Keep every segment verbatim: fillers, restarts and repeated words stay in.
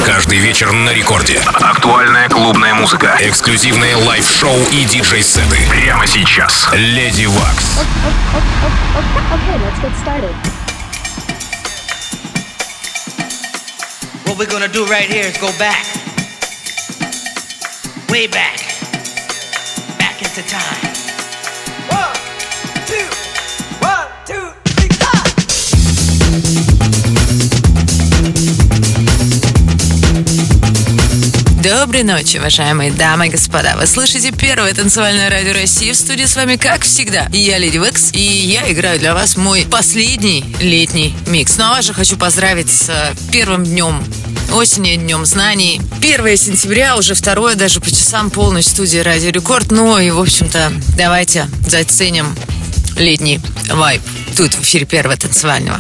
Каждый вечер на рекорде. Актуальная клубная музыка, эксклюзивные лайв-шоу и диджей-сеты. Прямо сейчас. Леди Вакс. Okay, let's get started. What we're gonna do right here is go back. Way back. Back into time. One, two, one, two, three, four. Доброй ночи, уважаемые дамы и господа. Вы слышите первое танцевальное радио России. В студии с вами, как всегда, я, Леди Вакс, и я играю для вас мой последний летний микс. Ну а вас же хочу поздравить с первым днем осени, днем знаний. первое сентября, уже второе, даже по часам полночь в студии Радио Рекорд. Ну и, в общем-то, давайте заценим летний вайб тут в эфире первого танцевального.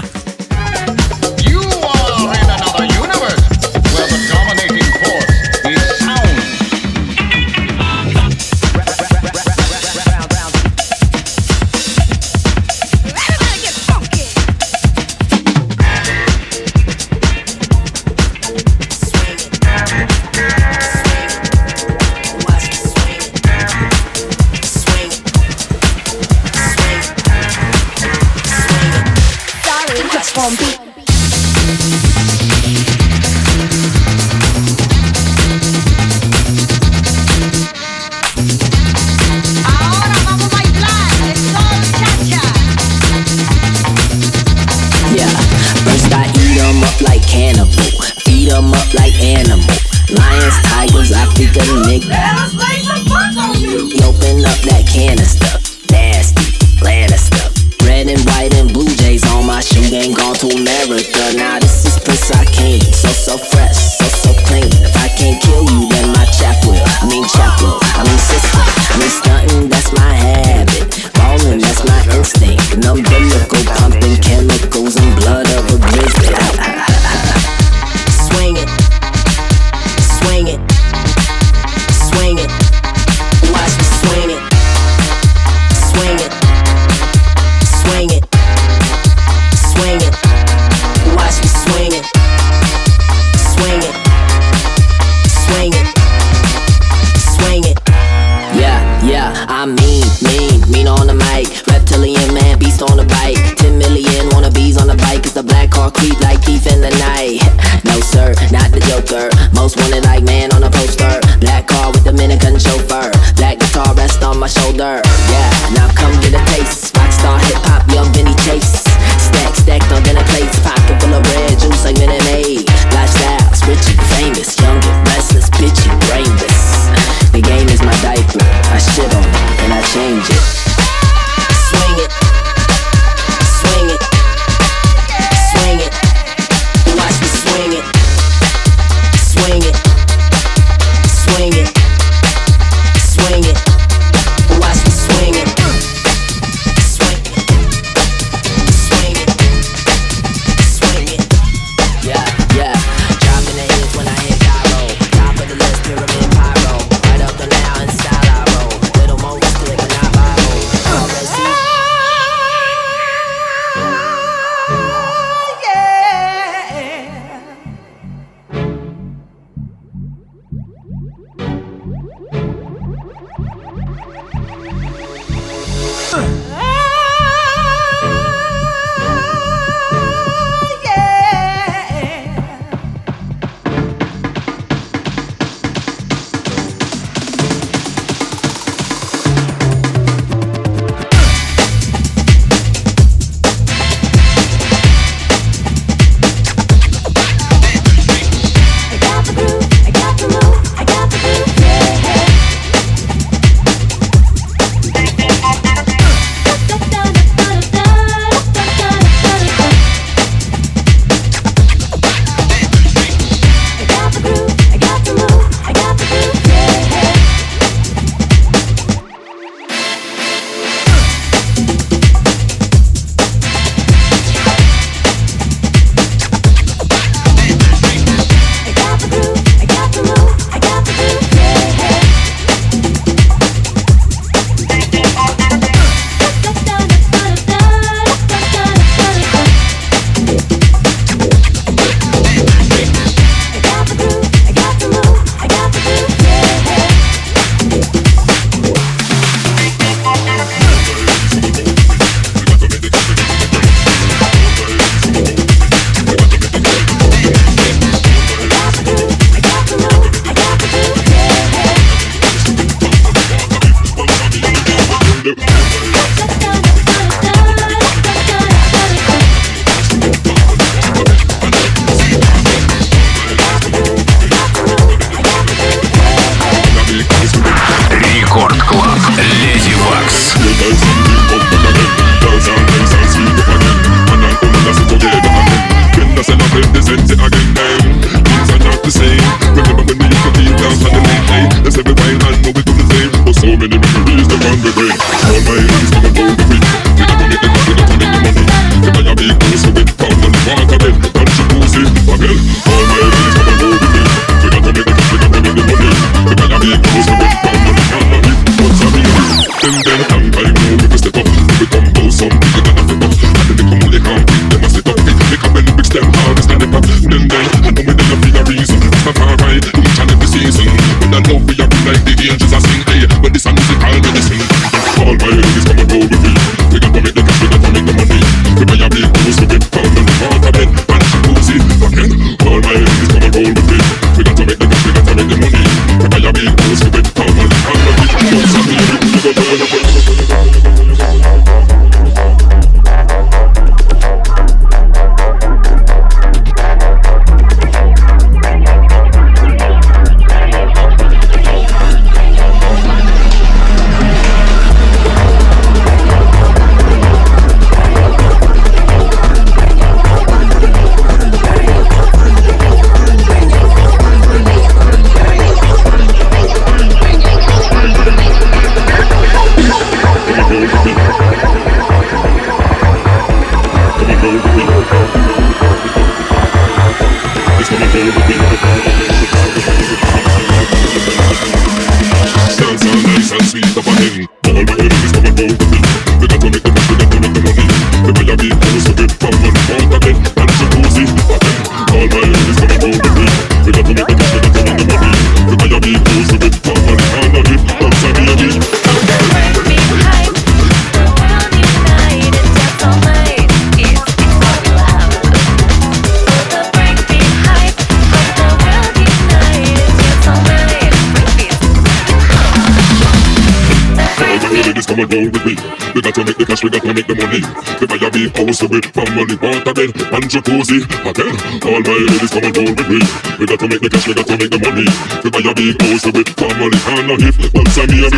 Come on, roll with me. We got to make the cash, we got to make the money. The fire big house with family, water bed, and jacuzzi. Hotel, all my ladies come on, roll with me. We got to make the cash, we got to make the money. The fire big house with family, and a hip. Once I me a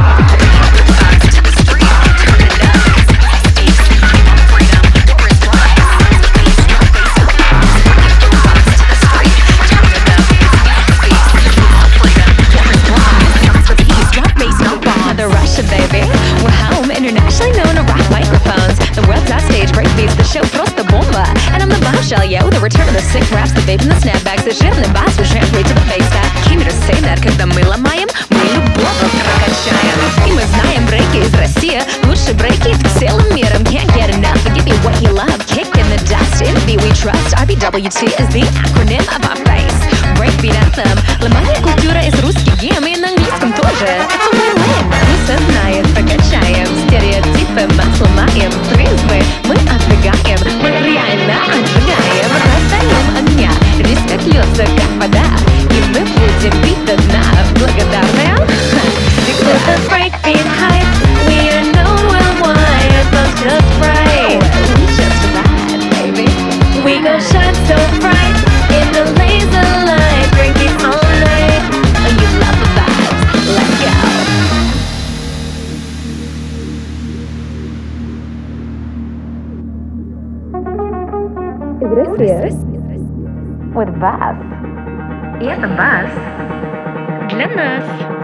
Baby, we're home, internationally known to rock microphones. The world's our stage, break beats, the show просто бомба. And I'm the bombshell, yo, the return of the sick raps, the babe and the snapbacks, the жирный бас, we trampled to the bass back. Came here to say that, когда мы ломаем, мы любовь прокачаем. И мы знаем брейки из России, лучшие брейки целым миром. Can't get enough, but give you what you love. Kick in the dust, in the beat we trust. R B W T is the acronym of our face. Breakbeat anthem, ломание культура из русский гем, и на английском тоже. Это win-win. Все знает, прокачаем стереотипы, мы сломаем призмы, мы отвлекаем, мы реально отжигаем, раздаем огня, респект льется, как вода, и мы будем бить до дна. Благодарны всегда. The breakbeat hype, we are known worldwide, it goes just right. We just ride, baby. We go shine so bright in the laser light, breakbeat all night. You love the vibes, let's go. With bass. И это бас для нас.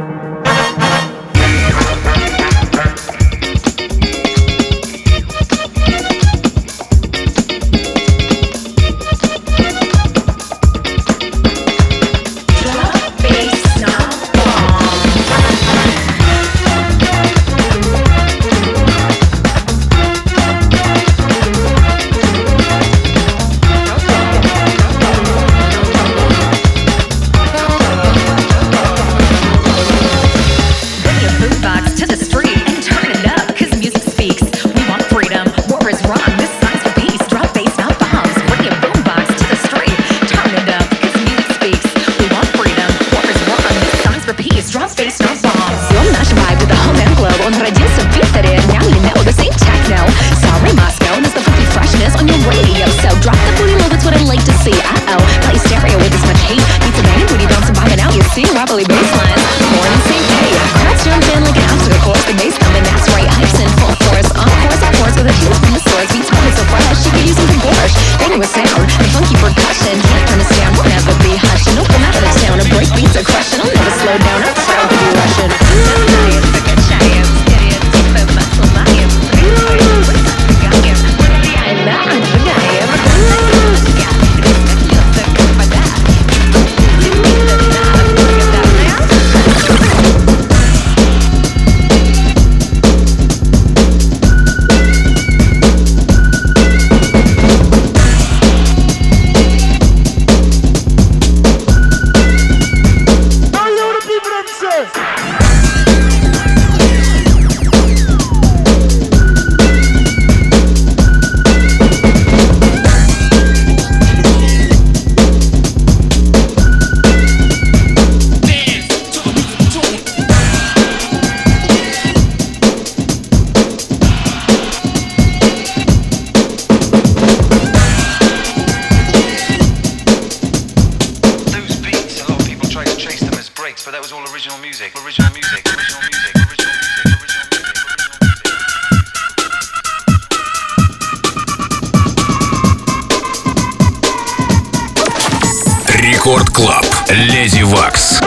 Рекорд Клаб. Леди Вакс.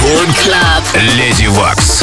Рекорд Клаб. Леди Вакс.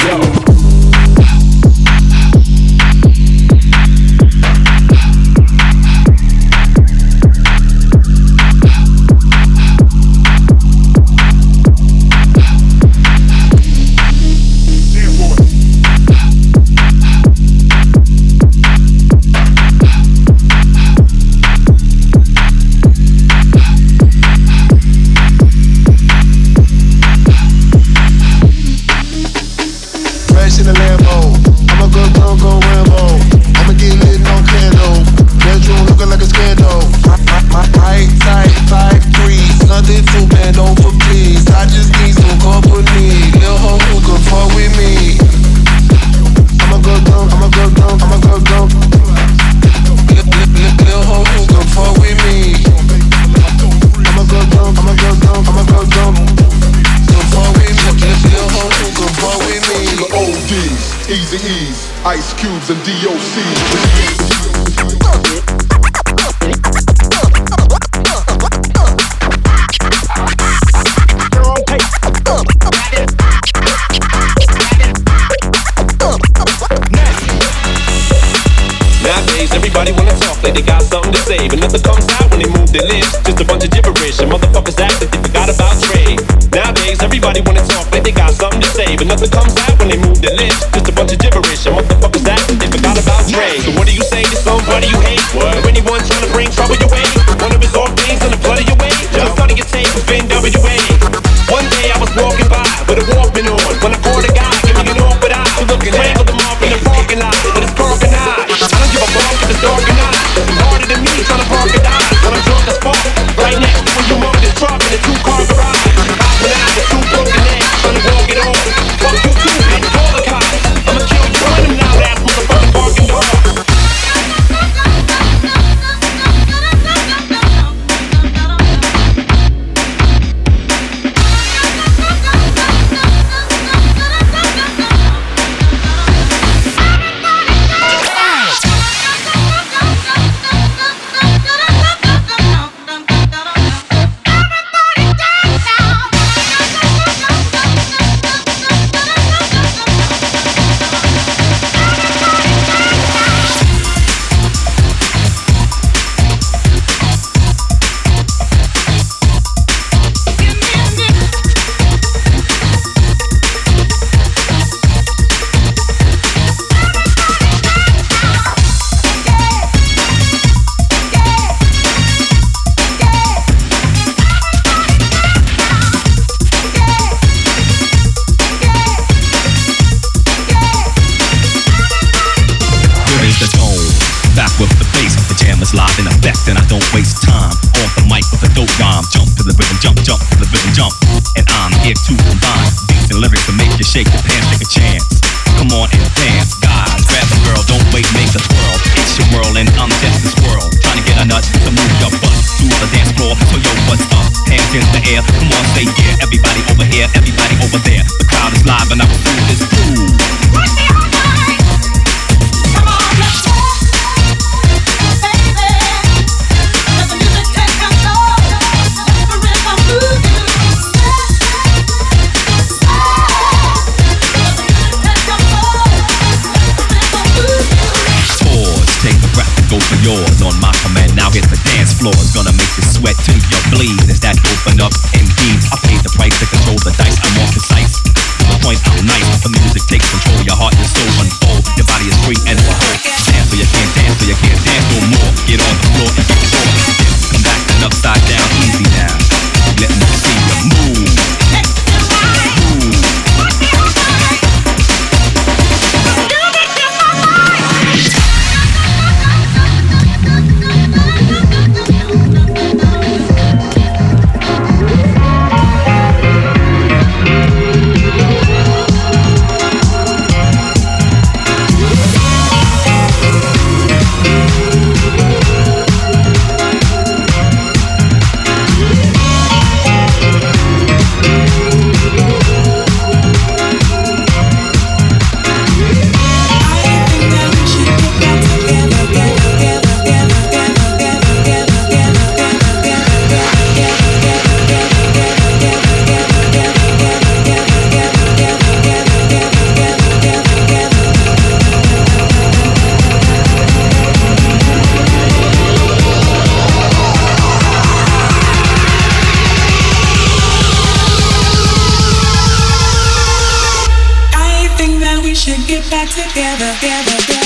Ice Cubes and D O C. Nowadays, everybody wanna talk like they got something to say, but nothing comes out when they move their lips. Just a bunch of gibberish, and motherfuckers act like they forgot about trade. Nowadays, everybody wanna talk like they got something to say, but nothing comes out when they move their lips. Just a bunch of gibberish, and motherfuckers act like they forgot about trade. So what do you say to somebody you hate? What? Or anyone trying to bring trouble your way? One of his off things in the blood of your way? Just starting your tape with N W A. One day I was walking by with a Walkman on, when I caught a guy, give me an awkward eye. So look, strangled him off in the parking lot with his parking eye. I don't give a fuck if it's dark or not. It's harder than me trying to park a dime when I'm drunk as fuck. Right next to a humongous truck in a two-car garage. When I had two broken legs trying to walk it off. Fuck you too, bitch, call the cops. I'ma kill you, run them now, ass motherfucking barking dog. Live in effect and I don't waste time on the mic with a dope rhyme. Jump to the rhythm, jump, jump to the rhythm, jump. And I'm here to combine beats and lyrics to make you shake your pants, take a chance. Come on and dance, guys, grab a girl, don't wait, make a twirl. It's your world and I'm just a squirrel, trying to get a nut to move your butt to the dance floor. So yo, what's up? Hands in the air, come on, say yeah. Everybody over here, everybody over there. The crowd is live and I will do this groove. Come on, let's go. Go for yours on my command. Now hit the dance floor. It's gonna make you sweat till you bleed. Is that open up? Indeed, I paid the price to control the dice. I'm more precise. To the point, I'm nice. The music takes control. Your heart and soul unfold. Your body is free and whole. Dance or you can't dance, or you can't dance no more. Get on the floor and get sore. Come back and upside down, easy now. Let me see you move. Move. back together, together, together.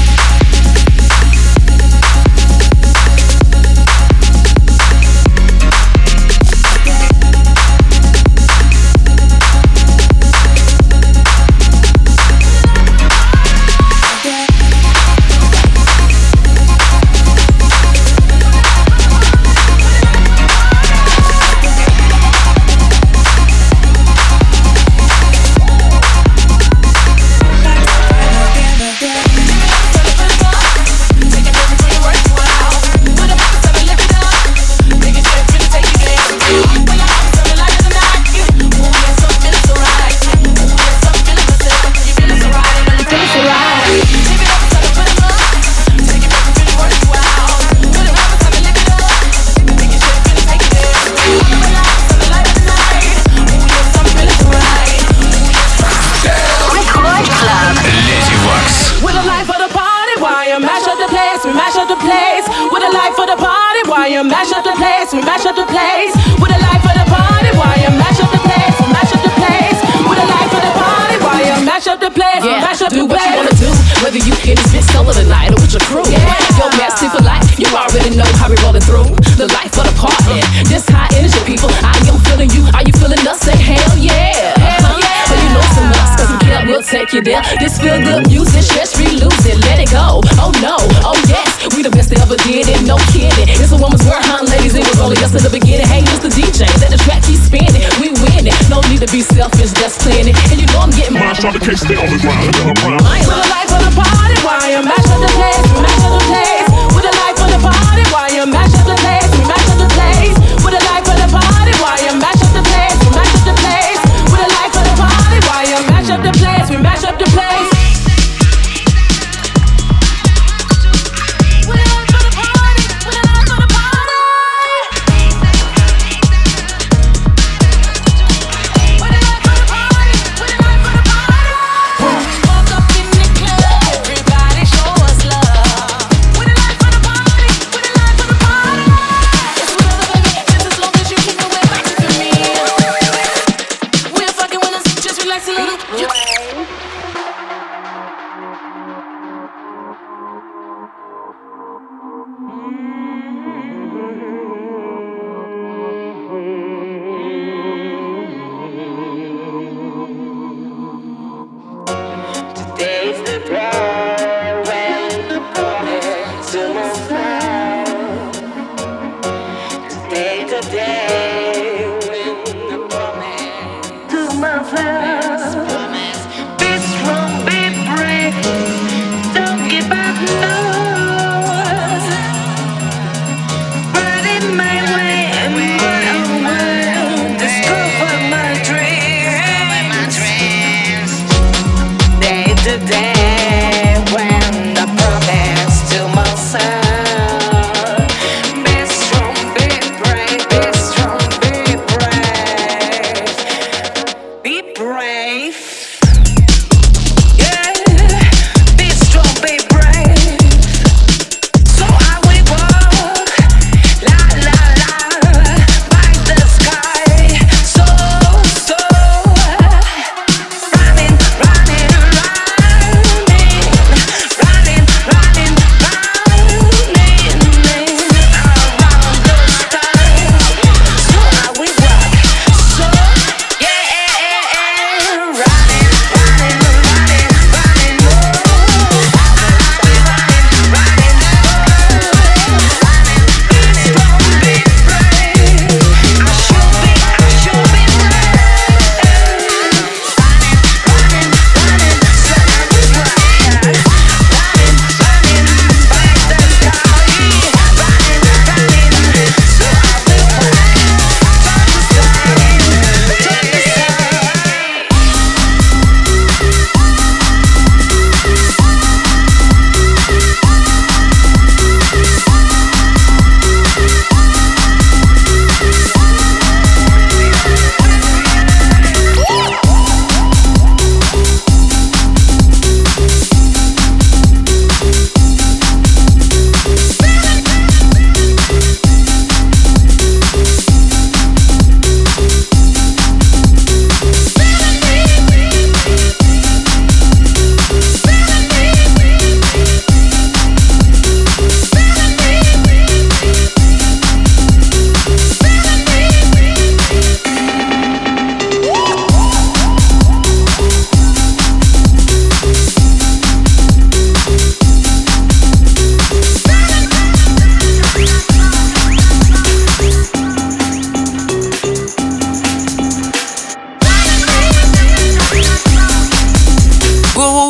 This feel good music, stress free, lose it, let it go. Oh no, oh yes, we the best that ever did it, no kidding. It's a woman's world, huh, ladies? It was only us in the beginning. Hey, Mister D J, let the track keep spinning. We win it, no need to be selfish, just planning. And you know I'm getting mine. Try to catch stay on the ground. With a life for the party, why you mash up the place? We mash up the place. With a life for the party, why you mash up the place? We mash up the place. With a life for the party, why you mash up the place? We mash up the place. With a life for the party, why you mash up the place? We mash up the place.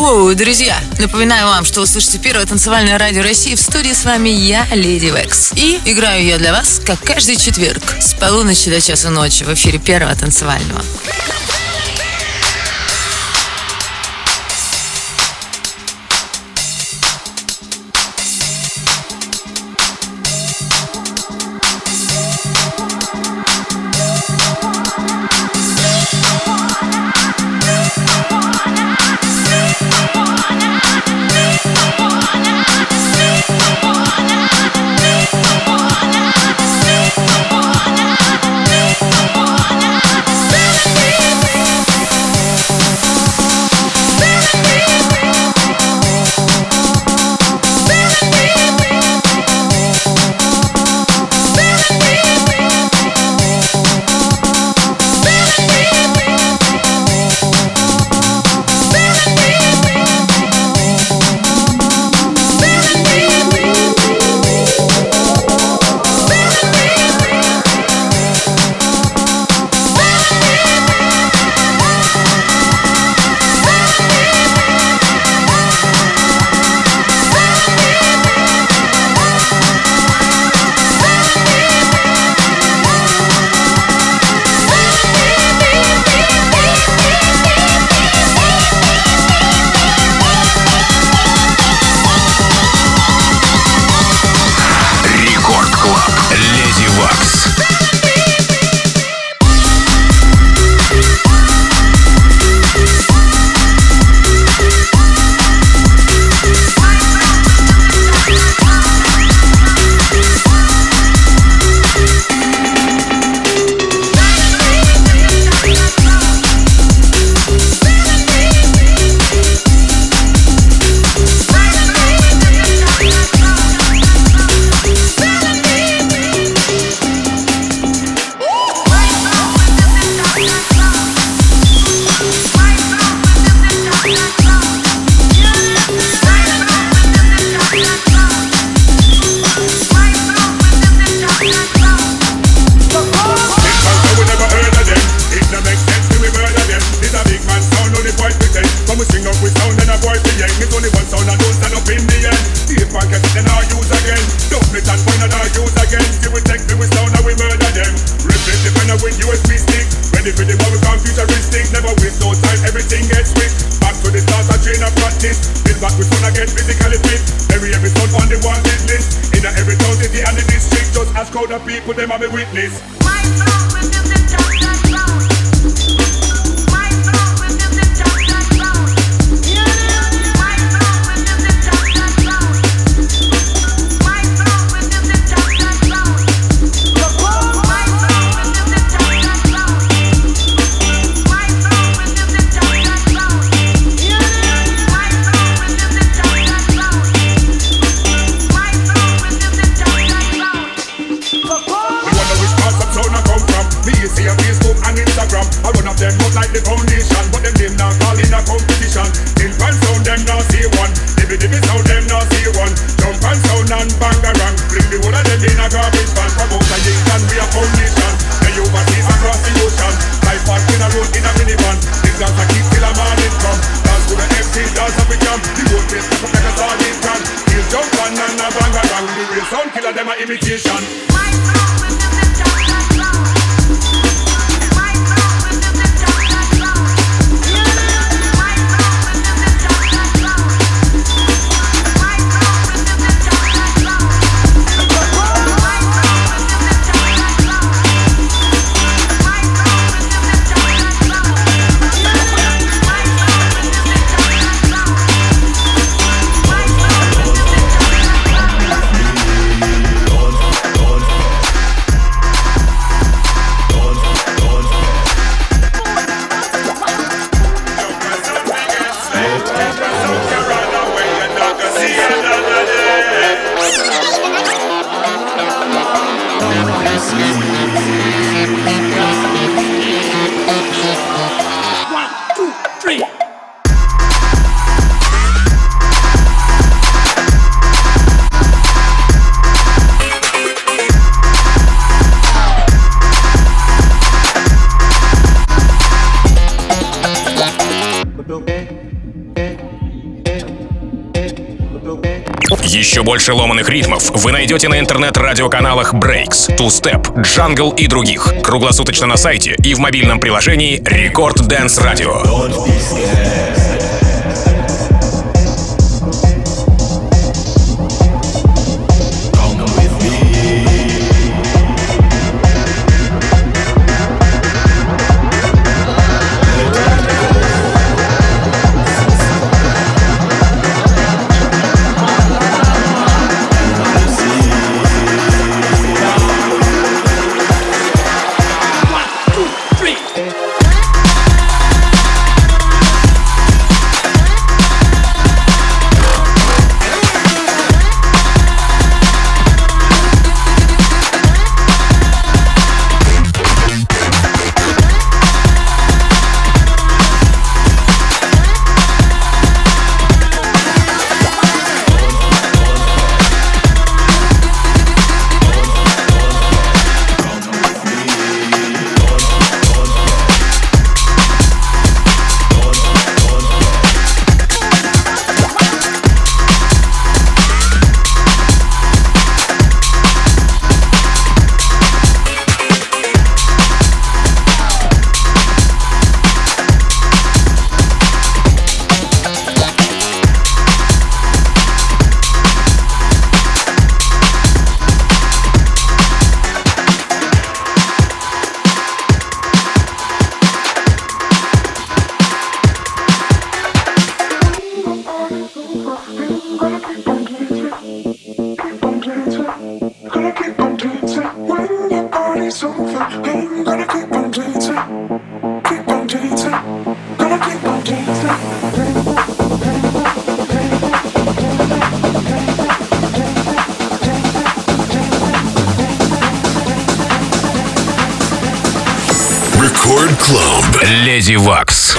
Воу, друзья, напоминаю вам, что вы слышите первое танцевальное радио России. В студии с вами я, Леди Векс. И играю я для вас, как каждый четверг, с полуночи до часа ночи в эфире первого танцевального. Еще больше ломаных ритмов вы найдете на интернет-радиоканалах Breaks, Two Step, Jungle и других. Круглосуточно на сайте и в мобильном приложении Record Dance Radio. Record Club. Lady Wax.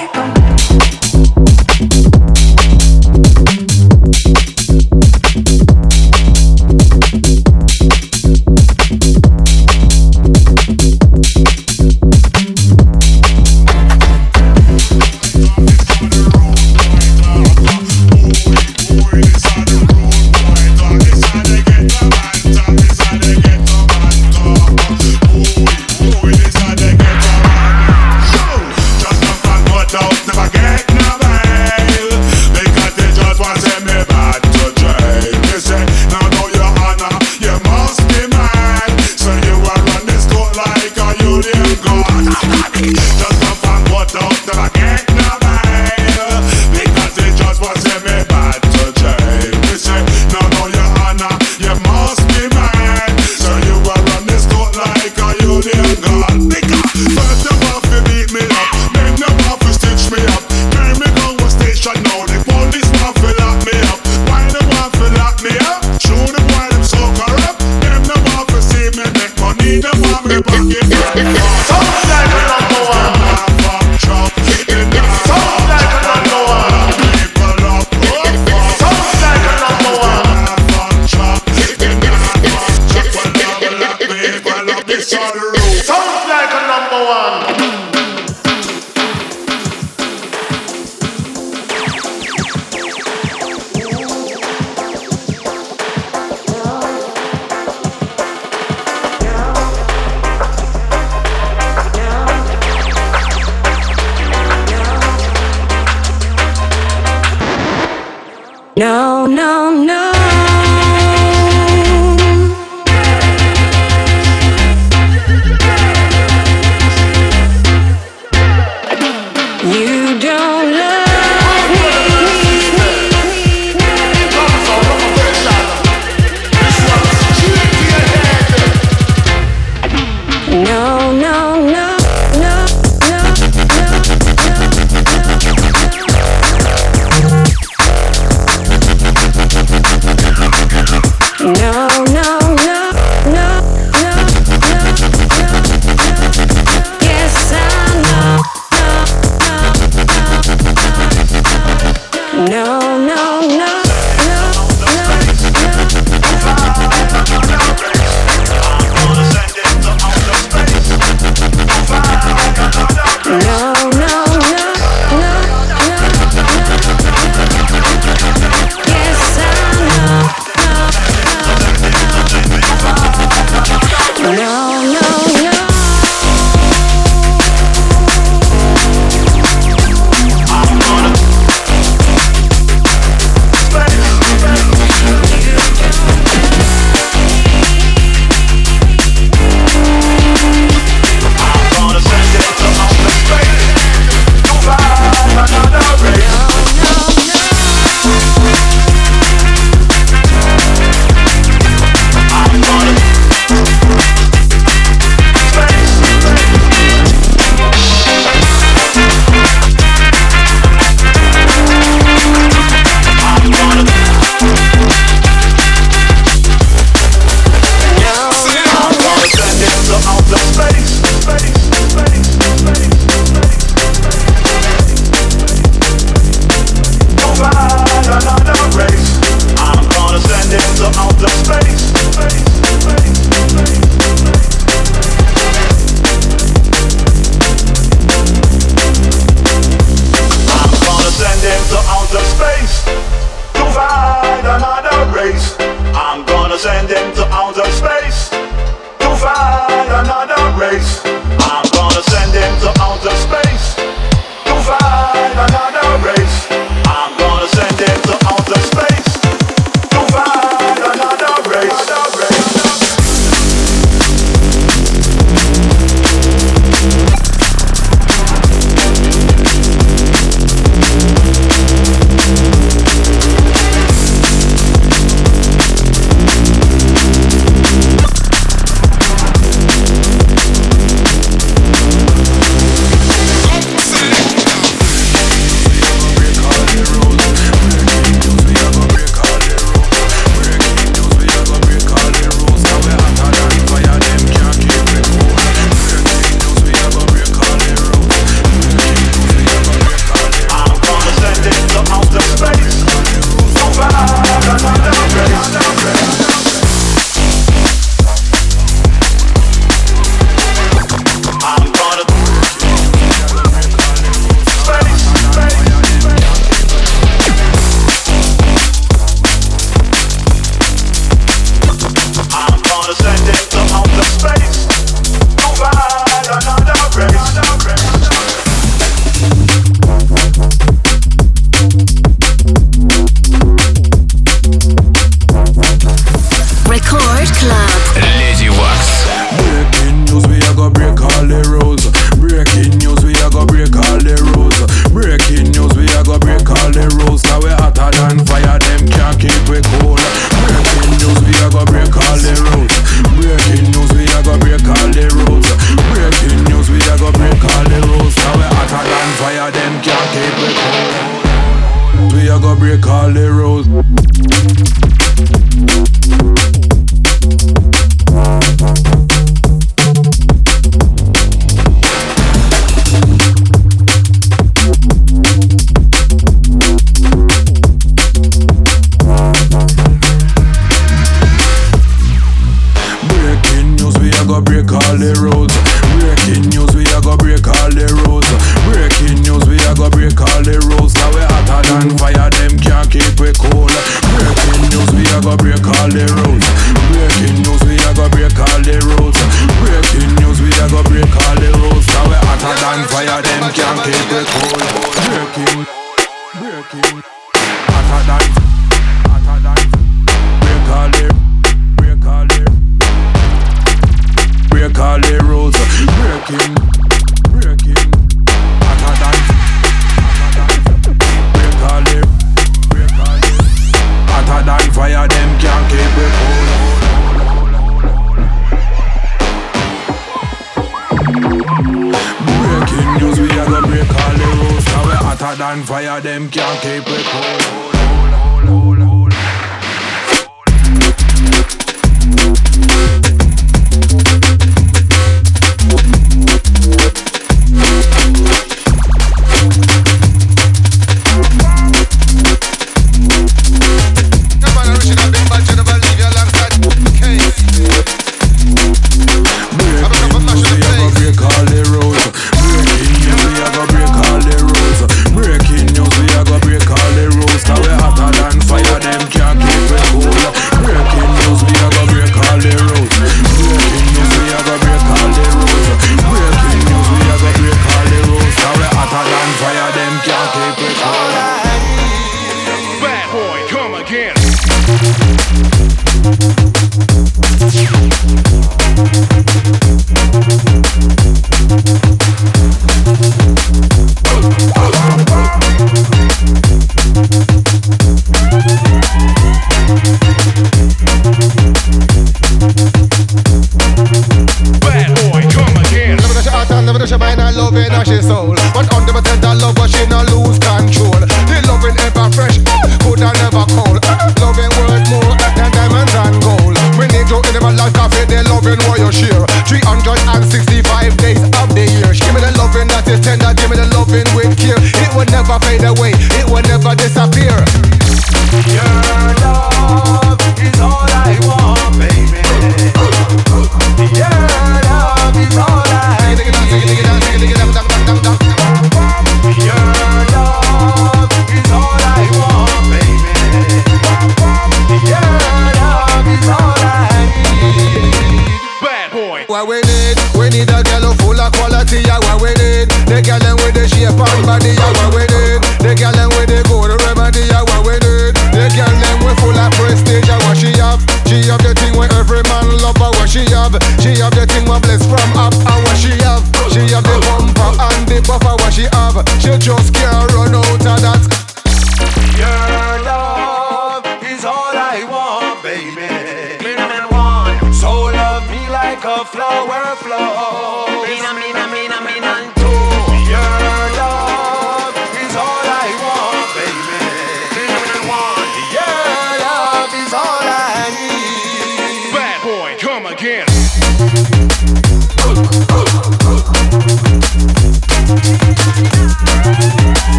No, no, no. You don't love me. No, no, no, no, no, no, no, no, no, no, no, no, yes, I know. them can't keep it cool. We a go break all the rules. Break all the rules. Breaking news, we a go break all the rules. Breaking news, we a go break all the rules. Cause we hotter than fire, them can't keep it cool. Breaking news, we a go break all the rules. Breaking news, we a go break all the rules. Breaking news, we a go break all the rules. Cause we hotter than fire, them can't keep it cool. Breaking, breaking, hotter than, hotter than, break all the, break all the. Break all the rules, breaking, breaking, hotter than, hotter than, break all the, break all the, hotter than fire, them can't keep it cool. Breaking news, we a go break all the rules. Now we hotter than fire, them can't keep it cool.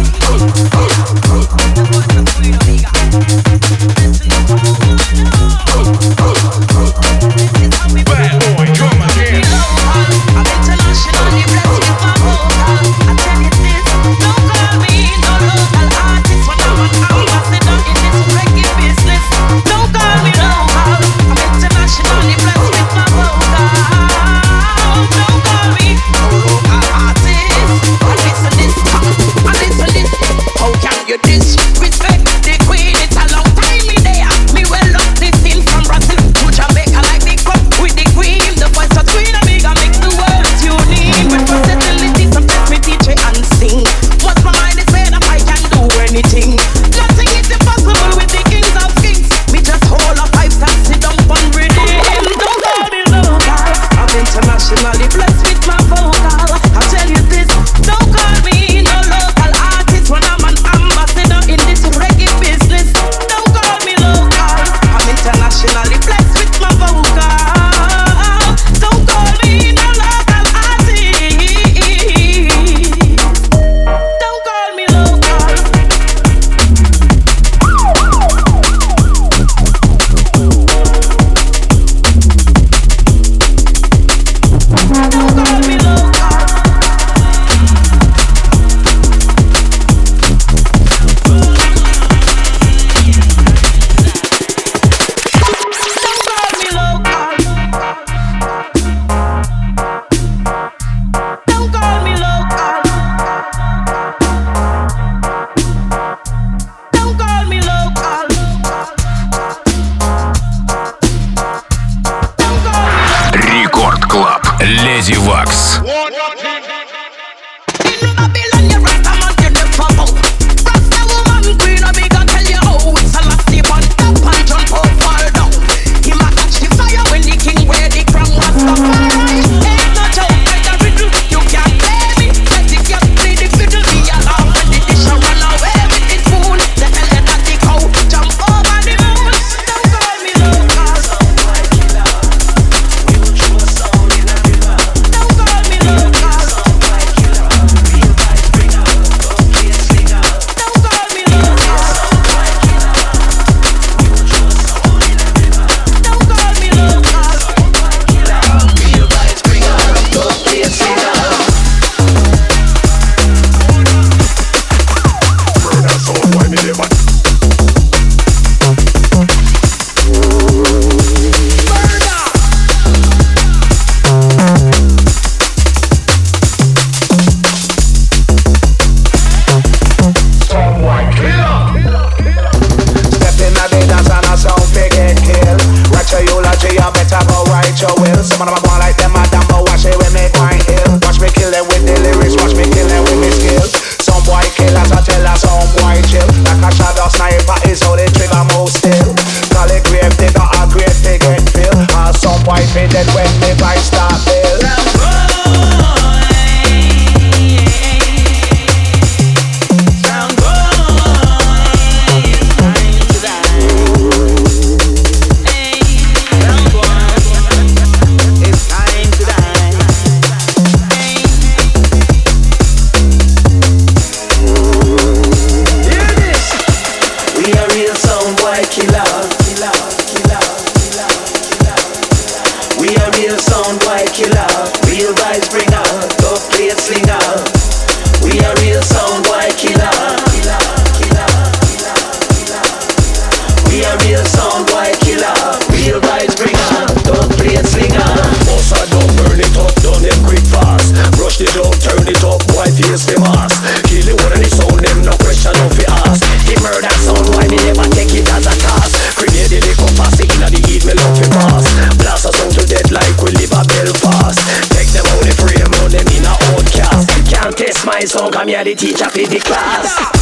Oh, Леди Вакс. The teacher for the class.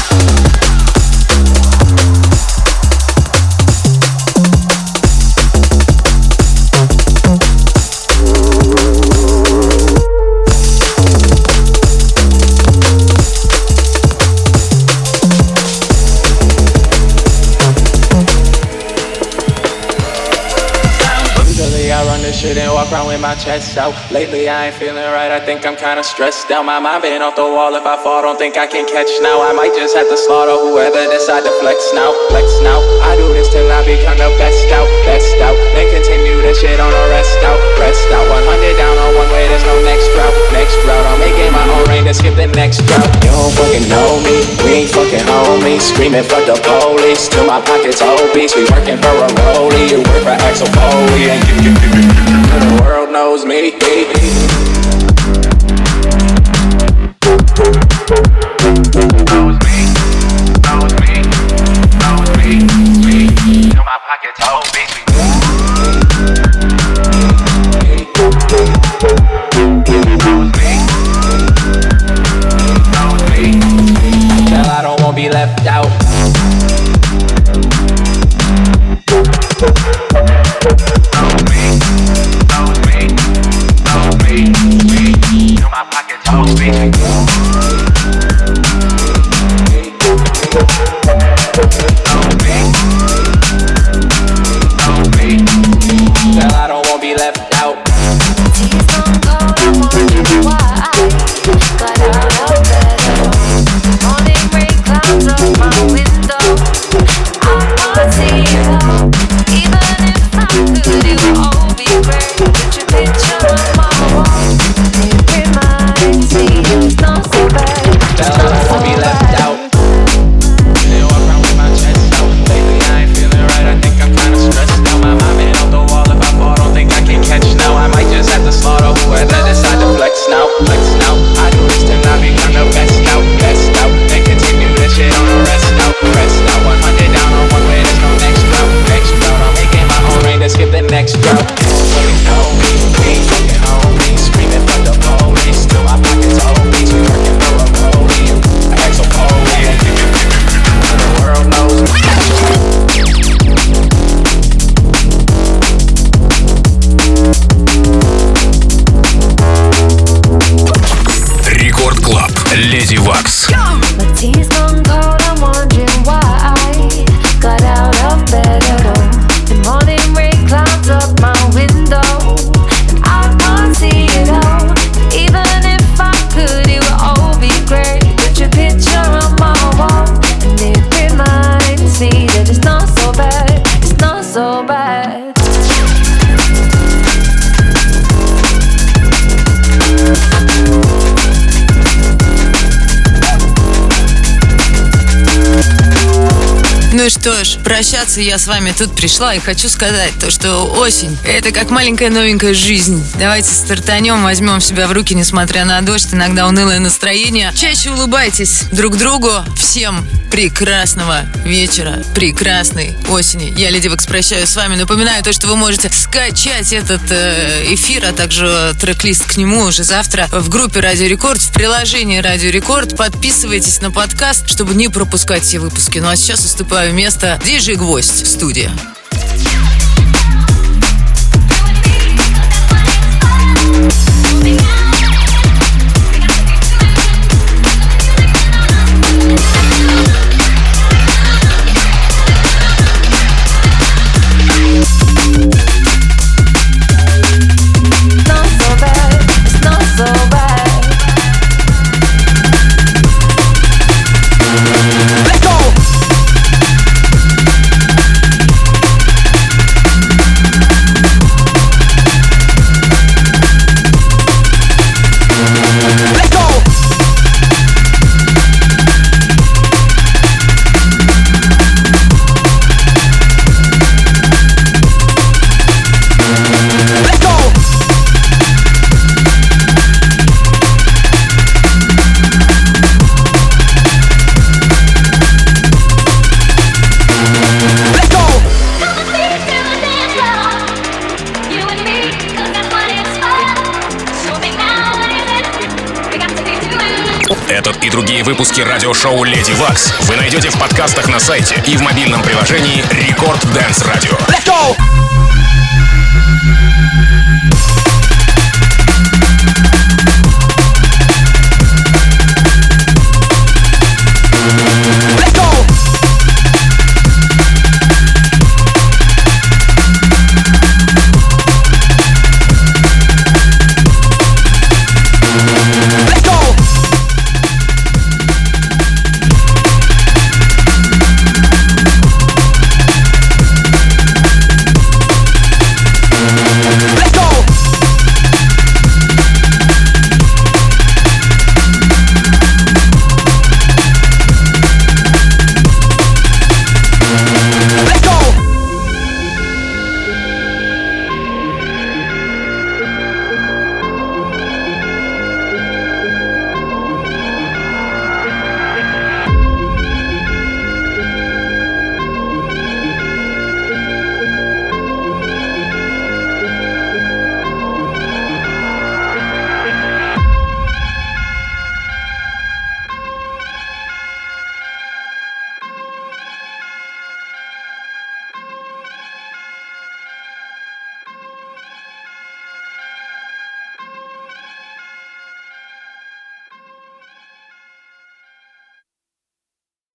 My chest out. Lately I ain't feeling right, I think I'm kinda stressed out. My mind been off the wall, if I fall don't think I can catch now. I might just have to slaughter whoever decide to flex now. Flex now, I do this till I become the best out. Best out, then continue the shit on the rest out. Rest out, one hundred down on one way, there's no next route. Next route, I'm making my own rain to skip the next drought. You don't fucking know me, we ain't fucking homies. Screaming for the police, till my pockets obese. We working for a rollie, you work for Axel Foley. And you, you, you, you, you, the world knows me. Knows me, knows me, knows me, me. Till my pockets obese. Knows me, knows me. Till I don't want to be left out. Knows me, knows me, knows me, me. Till my pockets obese. Girl, I don't wanna be left out. Tears don't go, I wonder why. Got out of bed. Morning rain clouds on my window. I can't see you. Even if I could, it would all be great. Put your picture on my wall. It reminds me it's not so bad. Girl, I don't wanna be left out. They walk around with my chest out. Lately I ain't feeling right, I think I'm kinda stressed out. My mind been off the wall, if I fall don't think I can catch now. I might just have to slaughter whoever decide to flex now. Flex now, I do this till I become ж, прощаться я с вами тут пришла и хочу сказать то, что осень — это как маленькая новенькая жизнь. Давайте стартанем, возьмем себя в руки, несмотря на дождь, иногда унылое настроение. Чаще улыбайтесь друг другу. Всем прекрасного вечера, прекрасной осени. Я, Леди Векс, прощаюсь с вами. Напоминаю то, что вы можете скачать этот э, эфир, а также трек-лист к нему уже завтра в группе Радио Рекорд, в приложении Радио Рекорд. Подписывайтесь на подкаст, чтобы не пропускать все выпуски. Ну а сейчас уступаю место диджей Гвоздь в студии. Этот и другие выпуски радиошоу «Леди Вакс» вы найдете в подкастах на сайте и в мобильном приложении Рекорд Dance Radio. Let's go!